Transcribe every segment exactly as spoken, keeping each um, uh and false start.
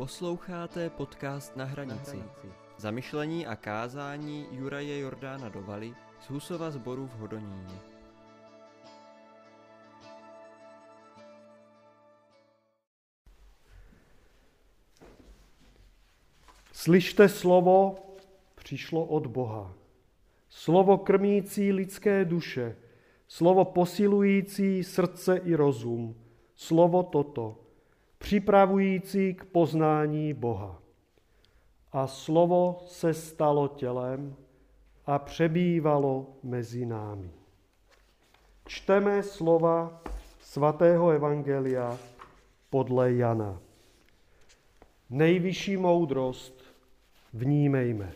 Posloucháte podcast Na hranici. Zamyšlení a kázání Juraje Jordána Dovaly z Husova sboru v Hodoníně. Slyšte slovo, přišlo od Boha. Slovo krmící lidské duše, slovo posilující srdce i rozum, slovo toto, připravující k poznání Boha. A slovo se stalo tělem a přebývalo mezi námi. Čteme slova svatého evangelia podle Jana. Nejvyšší moudrost vnímejme.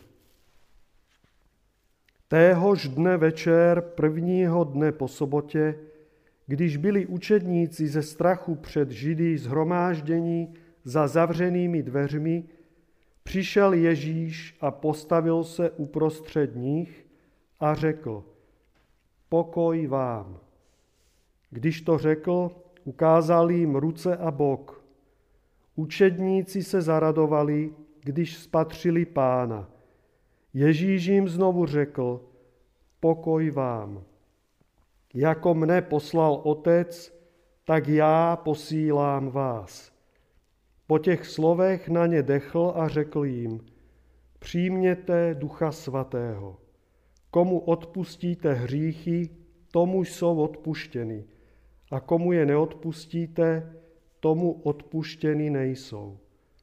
Téhož dne večer, prvního dne po sobotě, když byli učedníci ze strachu před Židy shromáždění za zavřenými dveřmi, přišel Ježíš a postavil se uprostřed nich a řekl: Pokoj vám. Když to řekl, ukázal jim ruce a bok. Učedníci se zaradovali, když spatřili Pána. Ježíš jim znovu řekl: Pokoj vám. Jako mne poslal Otec, tak já posílám vás. Po těch slovech na ně dechl a řekl jim: Přijměte Ducha Svatého. Komu odpustíte hříchy, tomu jsou odpuštěny. A komu je neodpustíte, tomu odpuštěny nejsou.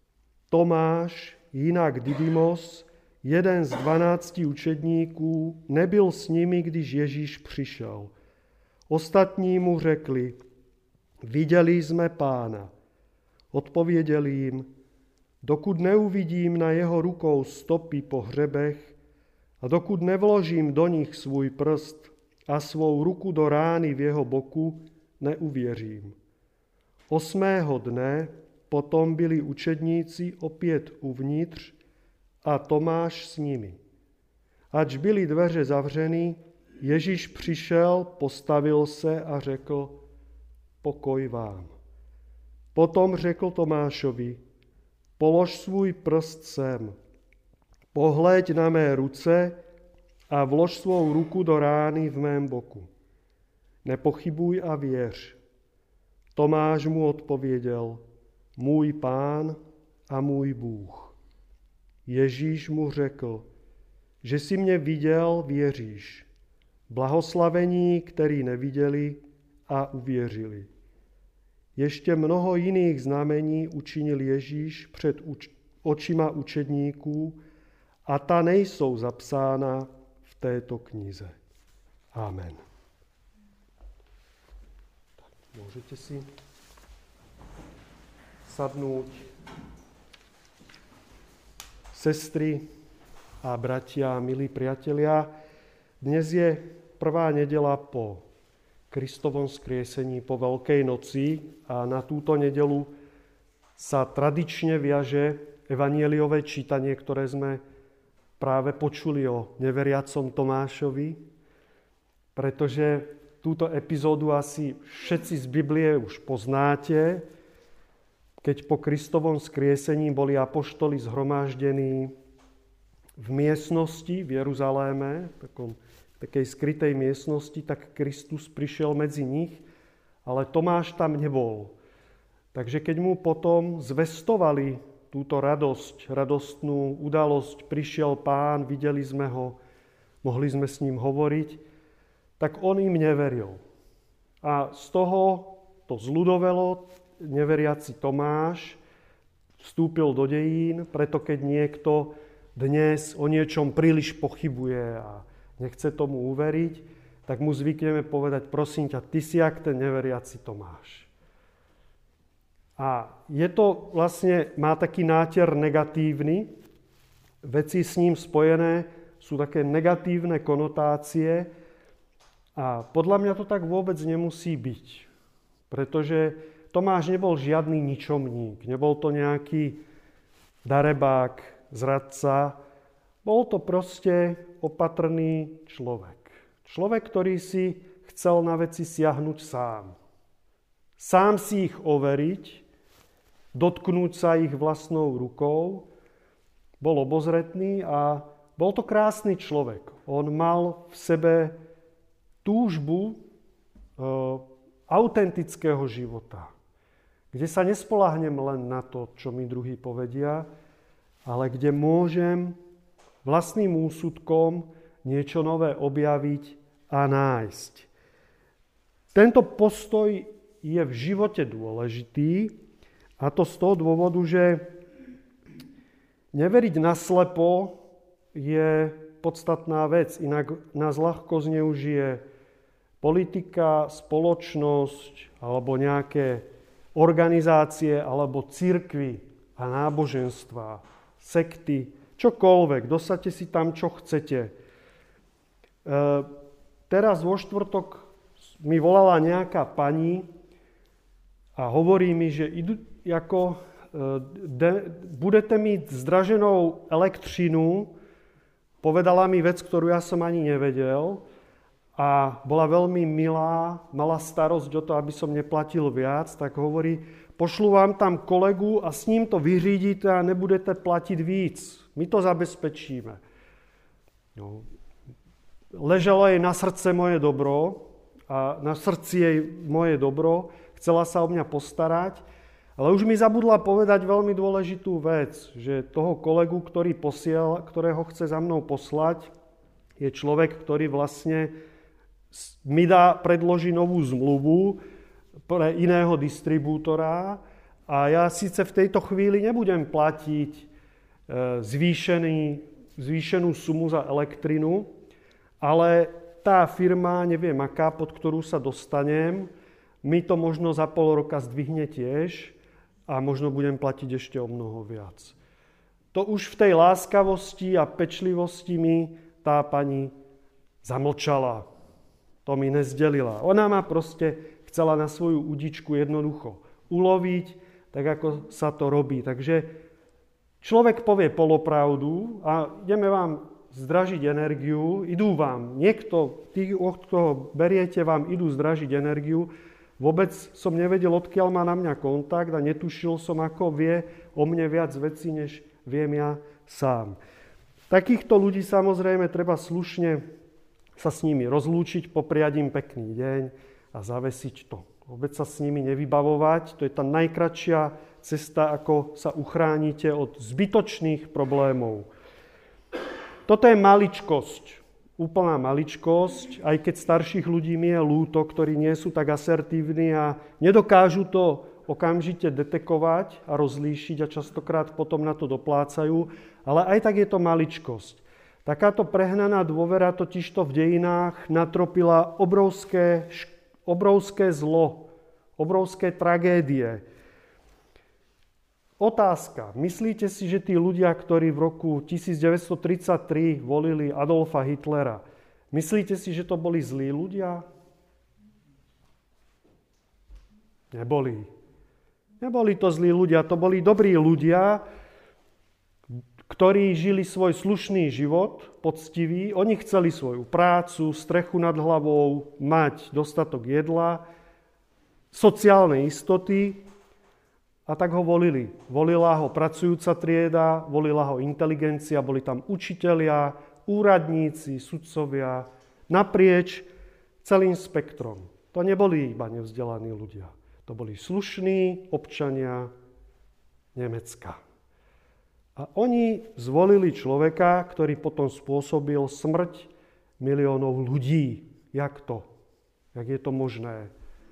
Tomáš, jinak Didymos, jeden z dvanácti učedníků, nebyl s nimi, když Ježíš přišel. Ostatní mu řekli: Viděli jsme Pána. Odpověděl jim: Dokud neuvidím na jeho rukou stopy po hřebech a dokud nevložím do nich svůj prst a svou ruku do rány v jeho boku, neuvěřím. Osmého dne potom byli učedníci opět uvnitř a Tomáš s nimi. Ač byly dveře zavřeny, Ježíš přišel, postavil se a řekl: Pokoj vám. Potom řekl Tomášovi: Polož svůj prst sem, pohléď na mé ruce a vlož svou ruku do rány v mém boku. Nepochybuj a věř. Tomáš mu odpověděl: Můj Pán a můj Bůh. Ježíš mu řekl: Že jsi mě viděl, věříš. Blahoslavení, který neviděli a uvěřili. Ještě mnoho jiných znamení učinil Ježíš před uč- očima učedníků a ta nejsou zapsána v této knize. Amen. Tak, můžete si sadnout. Sestry a bratia, milí priatelia, dnes je prvá nedeľa po Kristovom skriesení, po Veľkej noci a na túto nedeľu sa tradične viaže evanjeliové čítanie, ktoré sme práve počuli o neveriacom Tomášovi, pretože túto epizódu asi všetci z Biblie už poznáte, keď po Kristovom skriesení boli apoštoli zhromaždení v miestnosti v Jeruzaléme, v takom, takej skrytej miestnosti, tak Kristus prišiel medzi nich, ale Tomáš tam nebol. Takže keď mu potom zvestovali túto radosť, radostnú udalosť, prišiel Pán, videli sme ho, mohli sme s ním hovoriť, tak on im neveril. A z toho to zľudovelo, neveriaci Tomáš vstúpil do dejín, preto keď niekto dnes o niečom príliš pochybuje a nechce tomu uveriť, tak mu zvykneme povedať: prosím ťa, ty si jak ten neveriaci Tomáš. A je to vlastne, má taký nátier negatívny, veci s ním spojené sú také negatívne konotácie a podľa mňa to tak vôbec nemusí byť, pretože Tomáš nebol žiadny ničomník, nebol to nejaký darebák, zradca, bol to proste opatrný človek. Človek, ktorý si chcel na veci siahnuť sám. Sám si ich overiť dotknúť sa ich vlastnou rukou. Bol obozretný a bol to krásny človek. On mal v sebe túžbu e, autentického života, kde sa nespoľahnem len na to, čo mi druhí povedia, ale kde môžem vlastným úsudkom niečo nové objaviť a nájsť. Tento postoj je v živote dôležitý, a to z toho dôvodu, že neveriť naslepo je podstatná vec, inak nás ľahko zneužije politika, spoločnosť alebo nejaké organizácie alebo cirkvi a náboženstvá, sekty, čokoľvek, dosaďte si tam, čo chcete. E, teraz vo štvrtok mi volala nejaká pani a hovorí mi, že idú, ako, de, budete mít zdraženou elektřinu. Povedala mi vec, ktorú ja som ani nevedel a bola veľmi milá, mala starosť o to, aby som neplatil viac, tak hovorí, pošlu vám tam kolegu a s ním to vyřídíte a nebudete platiť víc. My to zabezpečíme. No. Ležalo jej na srdce moje dobro a na srdci jej moje dobro, chcela sa o mňa postarať, ale už mi zabudla povedať veľmi dôležitú vec, že toho kolegu, ktorý posiel, ktorého chce za mnou poslať, je človek, ktorý vlastne mi dá, predloží novú zmluvu pre iného distribútora a ja síce v tejto chvíli nebudem platiť zvýšený, zvýšenú sumu za elektrinu, ale tá firma, neviem aká, pod ktorú sa dostanem, mi to možno za pol roka zdvihne tiež a možno budem platiť ešte o mnoho viac. To už v tej láskavosti a pečlivosti mi tá pani zamlčala. To mi nezdelila. Ona ma proste chcela na svoju udičku jednoducho uloviť, tak ako sa to robí. Takže človek povie polopravdu a ideme vám zdražiť energiu, idú vám, niekto, tí, od koho beriete, vám idú zdražiť energiu. Vôbec som nevedel, odkiaľ má na mňa kontakt a netušil som, ako vie o mne viac vecí, než viem ja sám. Takýchto ľudí samozrejme treba slušne sa s nimi rozlúčiť, popriať im pekný deň a zavesiť to. Vôbec sa s nimi nevybavovať, to je tá najkratšia cesta, ako sa uchránite od zbytočných problémov. Toto je maličkosť. Úplná maličkosť, aj keď starších ľudí mi je ľúto, ktorí nie sú tak asertívni a nedokážu to okamžite detekovať a rozlíšiť a častokrát potom na to doplácajú, ale aj tak je to maličkosť. Takáto prehnaná dôvera totižto v dejinách natropila obrovské, obrovské zlo, obrovské tragédie. Otázka. Myslíte si, že tí ľudia, ktorí v roku devätnásťtridsaťtri volili Adolfa Hitlera, myslíte si, že to boli zlí ľudia? Neboli. Neboli to zlí ľudia, to boli dobrí ľudia, ktorí žili svoj slušný život, poctivý. Oni chceli svoju prácu, strechu nad hlavou, mať dostatok jedla, sociálne istoty, a tak ho volili. Volila ho pracujúca trieda, volila ho inteligencia, boli tam učitelia, úradníci, sudcovia, naprieč celým spektrom. To neboli iba nevzdelaní ľudia. To boli slušní občania Nemecka. A oni zvolili človeka, ktorý potom spôsobil smrť miliónov ľudí. Jak to? Jak je to možné?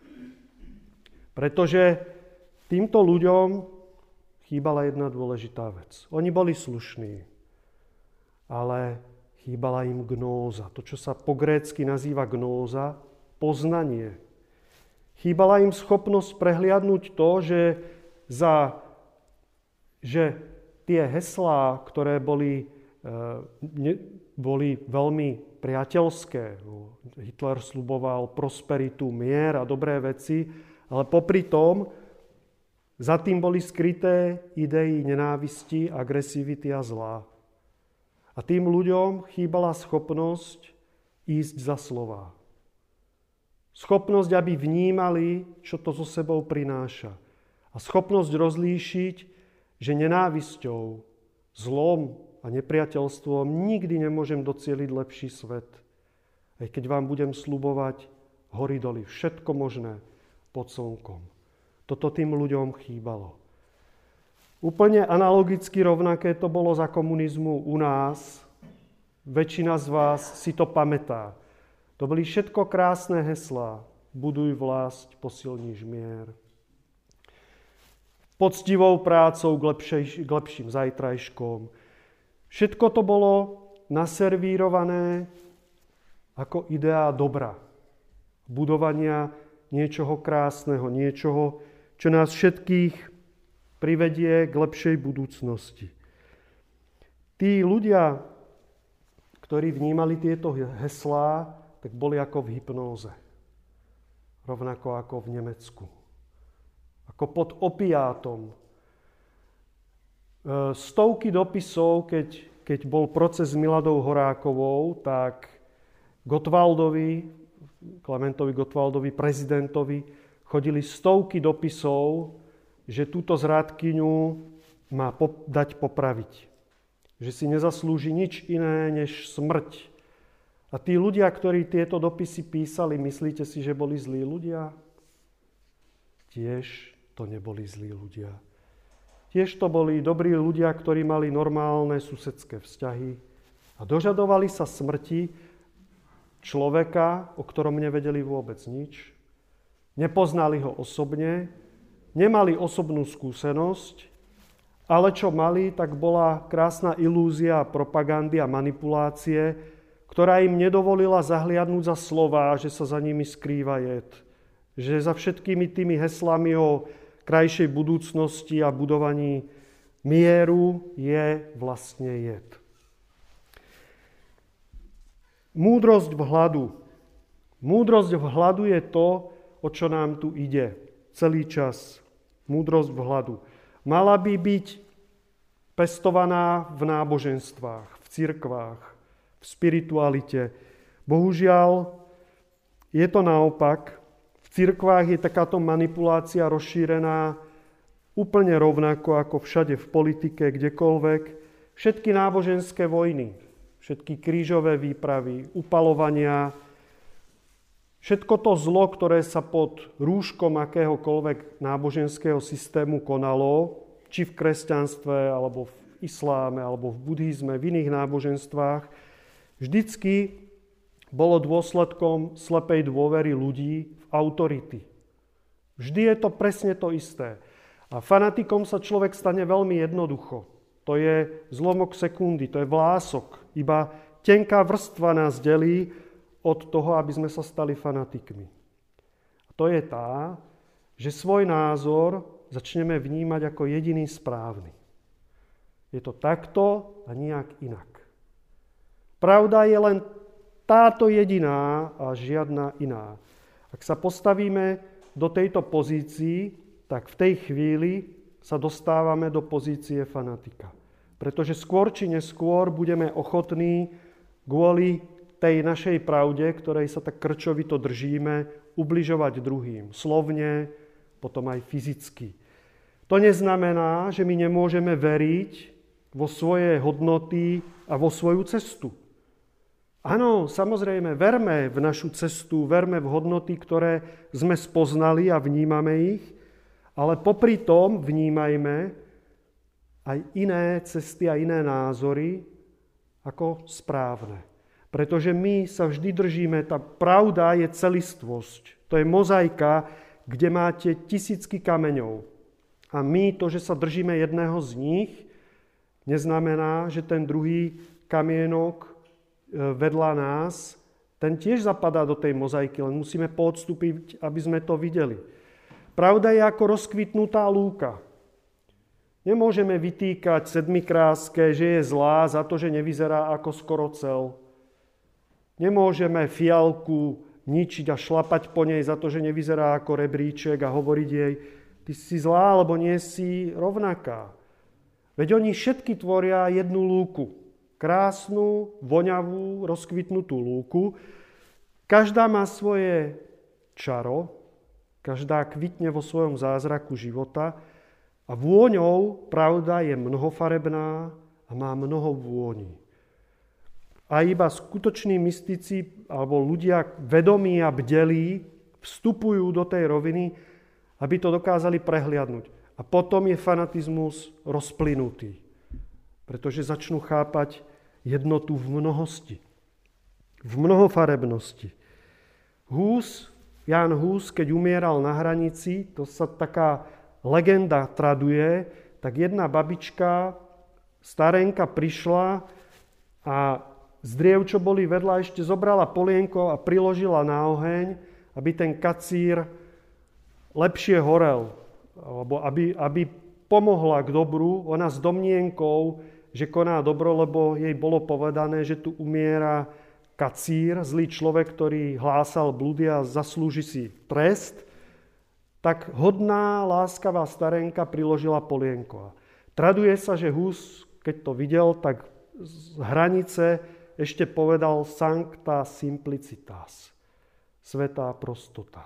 Pretože týmto ľuďom chýbala jedna dôležitá vec. Oni boli slušní, ale chýbala im gnóza. To, čo sa po grécky nazýva gnóza, poznanie. Chýbala im schopnosť prehliadnúť to, že, za, že tie heslá, ktoré boli, ne, boli veľmi priateľské, Hitler sľuboval prosperitu, mier a dobré veci, ale popri tom za tým boli skryté idei nenávisti, agresivity a zla. A tým ľuďom chýbala schopnosť ísť za slova. Schopnosť, aby vnímali, čo to so sebou prináša. A schopnosť rozlíšiť, že nenávisťou, zlom a nepriateľstvom nikdy nemôžem docieliť lepší svet. Aj keď vám budem sľubovať hory doly, všetko možné pod slnkom. Toto tým ľuďom chýbalo. Úplne analogicky rovnaké to bolo za komunizmu u nás. Väčšina z vás si to pamätá. To boli všetko krásne heslá. Buduj vlast, posilníš mier. Poctivou prácou k, lepšej, k lepším zajtrajškom. Všetko to bolo naservírované ako idea dobra. Budovania niečoho krásneho, niečoho, čo nás všetkých privedie k lepšej budúcnosti. Tí ľudia, ktorí vnímali tieto heslá, tak boli ako v hypnóze. Rovnako ako v Nemecku. Ako pod opiátom. Stovky dopisov, keď, keď bol proces s Miladou Horákovou, tak Gottwaldovi, Klementovi Gottwaldovi, prezidentovi, chodili stovky dopisov, že túto zrádkyňu má pop- dať popraviť. Že si nezaslúži nič iné než smrť. A tí ľudia, ktorí tieto dopisy písali, myslíte si, že boli zlí ľudia? Tiež to neboli zlí ľudia. Tiež to boli dobrí ľudia, ktorí mali normálne susedské vzťahy a dožadovali sa smrti človeka, o ktorom nevedeli vôbec nič. Nepoznali ho osobne, nemali osobnú skúsenosť, ale čo mali, tak bola krásna ilúzia propagandy a manipulácie, ktorá im nedovolila zahliadnúť za slová, že sa za nimi skrýva jed. Že za všetkými tými heslami o krajšej budúcnosti a budovaní mieru je vlastne jed. Múdrosť v hladu. Múdrosť v hladu je to, o čo nám tu ide celý čas. Múdrosť v hladu. Mala by byť pestovaná v náboženstvách, v cirkvách, v spiritualite. Bohužiaľ, je to naopak. V cirkvách je takáto manipulácia rozšírená úplne rovnako ako všade v politike, kdekoľvek. Všetky náboženské vojny, všetky krížové výpravy, upalovania, všetko to zlo, ktoré sa pod rúškom akéhokoľvek náboženského systému konalo, či v kresťanstve, alebo v isláme, alebo v buddhizme, v iných náboženstvách, vždycky bolo dôsledkom slepej dôvery ľudí v autority. Vždy je to presne to isté. A fanatikom sa človek stane veľmi jednoducho. To je zlomok sekundy, to je vlások. Iba tenká vrstva nás delí od toho, aby sme sa stali fanatikmi. A to je tá, že svoj názor začneme vnímať ako jediný správny. Je to takto a nijak inak. Pravda je len táto jediná a žiadna iná. Ak sa postavíme do tejto pozícii, tak v tej chvíli sa dostávame do pozície fanatika. Pretože skôr či neskôr budeme ochotní kvôli tej našej pravde, ktorej sa tak krčovito držíme, ubližovať druhým. Slovne, potom aj fyzicky. To neznamená, že my nemôžeme veriť vo svoje hodnoty a vo svoju cestu. Áno, samozrejme, verme v našu cestu, verme v hodnoty, ktoré sme spoznali a vnímame ich, ale popri tom vnímajme aj iné cesty a iné názory ako správne. Pretože my sa vždy držíme, tá pravda je celistvosť. To je mozaika, kde máte tisícky kameňov. A my to, že sa držíme jedného z nich, neznamená, že ten druhý kamienok vedľa nás, ten tiež zapadá do tej mozaiky, len musíme podstúpiť, aby sme to videli. Pravda je ako rozkvitnutá lúka. Nemôžeme vytýkať sedmikráske, že je zlá za to, že nevyzerá ako skorocel. Nemôžeme fialku ničiť a šlapať po nej za to, že nevyzerá ako rebríček a hovoriť jej, ty si zlá, alebo nie si rovnaká. Veď oni všetky tvoria jednu lúku. Krásnu, voňavú, rozkvitnutú lúku. Každá má svoje čaro, Každá kvitne vo svojom zázraku života a vôňou, pravda, je mnohofarebná a má mnoho vôní. A iba skutoční mystici alebo ľudia vedomí a bdelí vstupujú do tej roviny, aby to dokázali prehliadnúť. A potom je fanatizmus rozplynutý, pretože začnú chápať jednotu v mnohosti, v mnohofarebnosti. Hus, Ján Hus, keď umieral na hranici, to sa taká legenda traduje, tak jedna babička, starenka, prišla a z driev, čo boli vedľa, ešte zobrala polienko a priložila na oheň, aby ten kacír lepšie horel, alebo aby, aby pomohla k dobru. Ona s domnienkou, že koná dobro, lebo jej bolo povedané, že tu umiera kacír, zlý človek, ktorý hlásal blúdy a zaslúži si trest, tak hodná, láskavá starenka priložila polienko. Traduje sa, že Hus, keď to videl, tak z hranice ešte povedal sancta simplicitas, svätá prostota.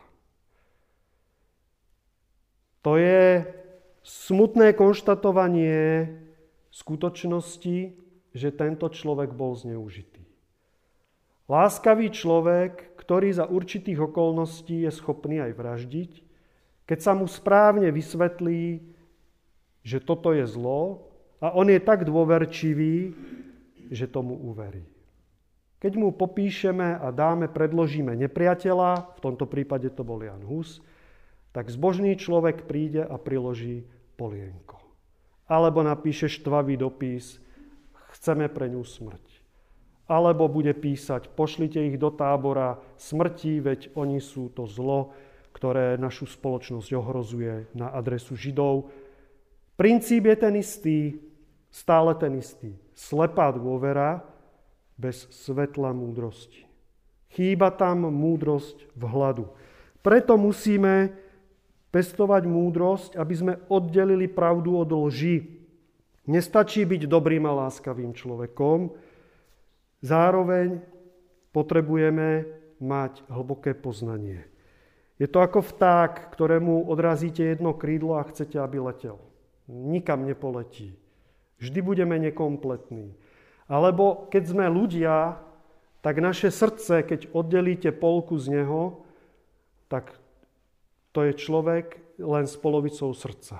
To je smutné konštatovanie skutočnosti, že tento človek bol zneužitý. Láskavý človek, ktorý za určitých okolností je schopný aj vraždiť, keď sa mu správne vysvetlí, že toto je zlo a on je tak dôverčivý, že tomu uverí. Keď mu popíšeme a dáme, predložíme nepriateľa, v tomto prípade to bol Ján Hus, tak zbožný človek príde a priloží polienko. Alebo napíše štvavý dopis, chceme pre ňu smrť. Alebo bude písať, pošlite ich do tábora smrti, veď oni sú to zlo, ktoré našu spoločnosť ohrozuje, na adresu Židov. Princíp je ten istý, stále ten istý. Slepá dôvera bez svetla múdrosti. Chýba tam múdrosť v hladu. Preto musíme pestovať múdrosť, aby sme oddelili pravdu od lži. Nestačí byť dobrým a láskavým človekom, zároveň potrebujeme mať hlboké poznanie. Je to ako vták, ktorému odrazíte jedno krídlo a chcete, aby letel. Nikam nepoletí. Vždy budeme nekompletní. Alebo keď sme ľudia, tak naše srdce, keď oddelíte polku z neho, tak to je človek len s polovicou srdca.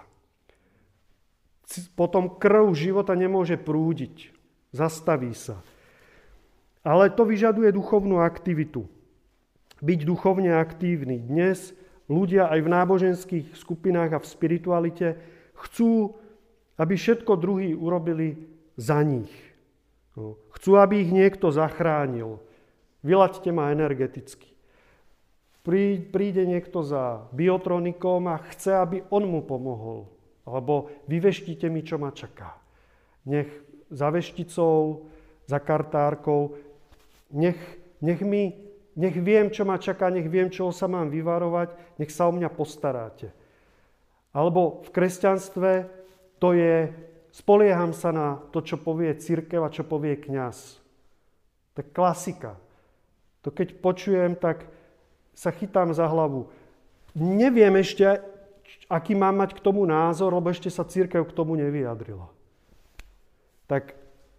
Potom krv života nemôže prúdiť. Zastaví sa. Ale to vyžaduje duchovnú aktivitu. Byť duchovne aktívny. Dnes ľudia aj v náboženských skupinách a v spiritualite chcú, aby všetko druhí urobili za nich. No. Chcú, aby ich niekto zachránil. Vylaďte ma energeticky. Príde niekto za biotronikom a chce, aby on mu pomohol. Alebo vyveštite mi, čo ma čaká. Nech za vešticou, za kartárkou, nech, nech, mi, nech viem, čo ma čaká, nech viem, čoho sa mám vyvarovať, nech sa o mňa postaráte. Alebo v kresťanstve to je, spolieham sa na to, čo povie cirkev a čo povie kňaz. To je klasika. To keď počujem, tak sa chytám za hlavu. Neviem ešte, aký mám mať k tomu názor, lebo ešte sa cirkev k tomu nevyjadrila. Tak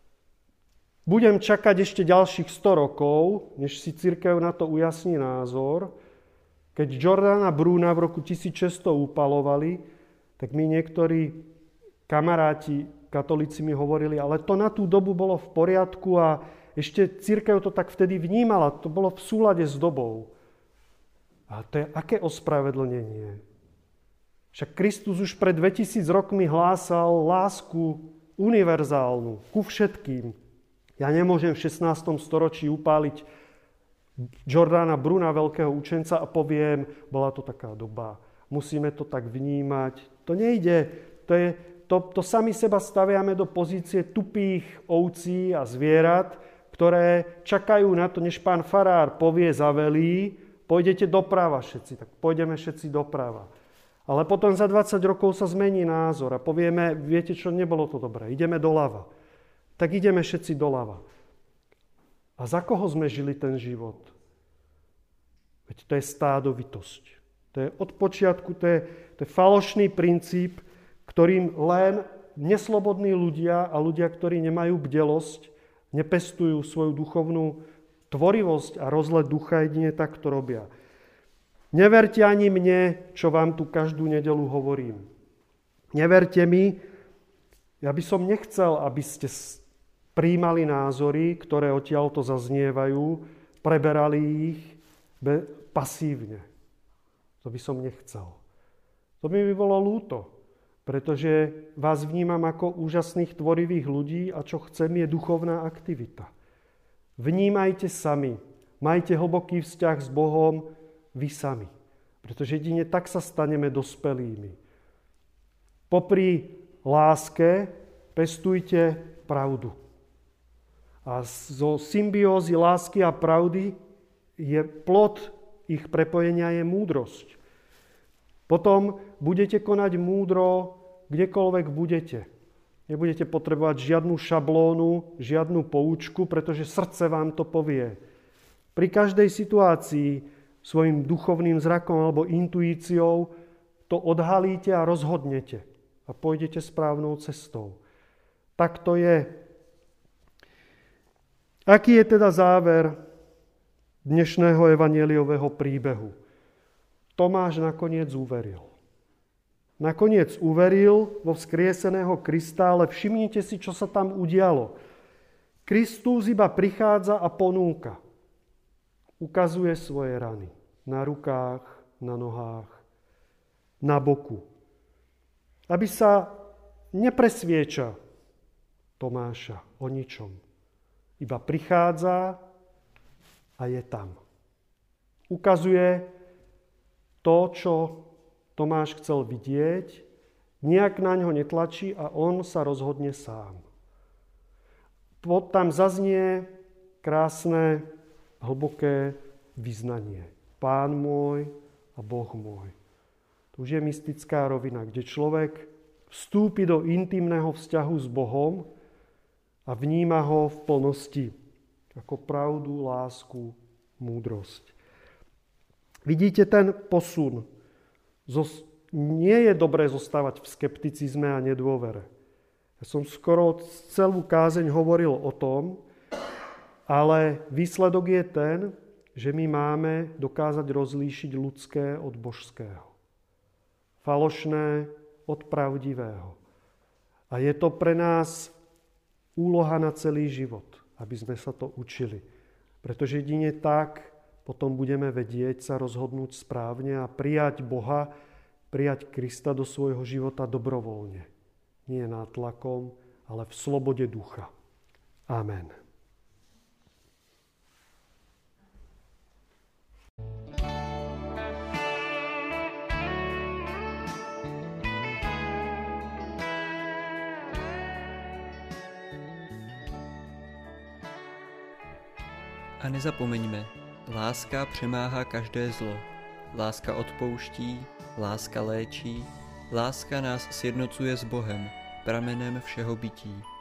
budem čakať ešte ďalších sto rokov, než si cirkev na to ujasní názor. Keď Giordana Bruna v roku tisícšesťsto upalovali, tak mi niektorí kamaráti katolíci mi hovorili, ale to na tú dobu bolo v poriadku a ešte cirkev to tak vtedy vnímala, to bolo v súlade s dobou. A to je aké ospravedlnenie? Však Kristus už pred dvetisíc rokmi hlásal lásku univerzálnu ku všetkým. Ja nemôžem v šestnástom storočí upáliť Giordana Bruna, veľkého učenca, a poviem, bola to taká doba. Musíme to tak vnímať. To nejde. To, je, to, to sami seba staviame do pozície tupých ovcí a zvierat, ktoré čakajú na to, než pán farár povie, zavelí, pôjdete doprava všetci, tak pôjdeme všetci doprava. Ale potom za dvadsať rokov sa zmení názor a povieme, viete čo, nebolo to dobré, ideme doľava. Tak ideme všetci doľava. A za koho sme žili ten život? Veď to je stádovitosť. To To je od počiatku, to je, to je falošný princíp, ktorým len neslobodní ľudia a ľudia, ktorí nemajú bdelosť, nepestujú svoju duchovnú tvorivosť a rozlet ducha, jedine tak to robia. Neverte ani mne, čo vám tu každú nedeľu hovorím. Neverte mi, ja by som nechcel, aby ste prijímali názory, ktoré odtiaľto zaznievajú, preberali ich pasívne. To by som nechcel. To by mi bolo ľúto, pretože vás vnímam ako úžasných tvorivých ľudí a čo chcem je duchovná aktivita. Vnímajte sami, majte hlboký vzťah s Bohom vy sami, pretože jedine tak sa staneme dospelými. Popri láske pestujte pravdu. A zo symbiózy lásky a pravdy je plod ich prepojenia je múdrosť. Potom budete konať múdro, kdekoľvek budete. Nebudete potrebovať žiadnu šablónu, žiadnu poučku, pretože srdce vám to povie. Pri každej situácii svojim duchovným zrakom alebo intuíciou to odhalíte a rozhodnete a pôjdete správnou cestou. Tak to je. Aký je teda záver dnešného evanjeliového príbehu? Tomáš nakoniec uveril. Nakoniec uveril vo vzkrieseného Krista, ale všimnite si, čo sa tam udialo. Kristus iba prichádza a ponúka. Ukazuje svoje rany na rukách, na nohách, na boku. Aby sa nepresvieča Tomáša o ničom. Iba prichádza a je tam. Ukazuje to, čo Tomáš chcel vidieť, nejak na ňo netlačí a on sa rozhodne sám. Tam zaznie krásne, hlboké vyznanie. Pán môj a Boh môj. To už je mystická rovina, kde človek vstúpi do intimného vzťahu s Bohom a vníma ho v plnosti ako pravdu, lásku, múdrosť. Vidíte ten posun. Nie je dobré zostávať v skepticizme a nedôvere. Ja som skoro celú kázeň hovoril o tom, ale výsledok je ten, že my máme dokázať rozlíšiť ľudské od božského. Falošné od pravdivého. A je to pre nás úloha na celý život, aby sme sa to učili. Pretože jedine tak potom budeme vedieť sa rozhodnúť správne a prijať Boha, prijať Krista do svojho života dobrovoľne. Nie nátlakom, ale v slobode ducha. Amen. A nezapomeňme, láska přemáhá každé zlo. Láska odpouští, láska léčí, láska nás sjednocuje s Bohem, pramenem všeho bytí.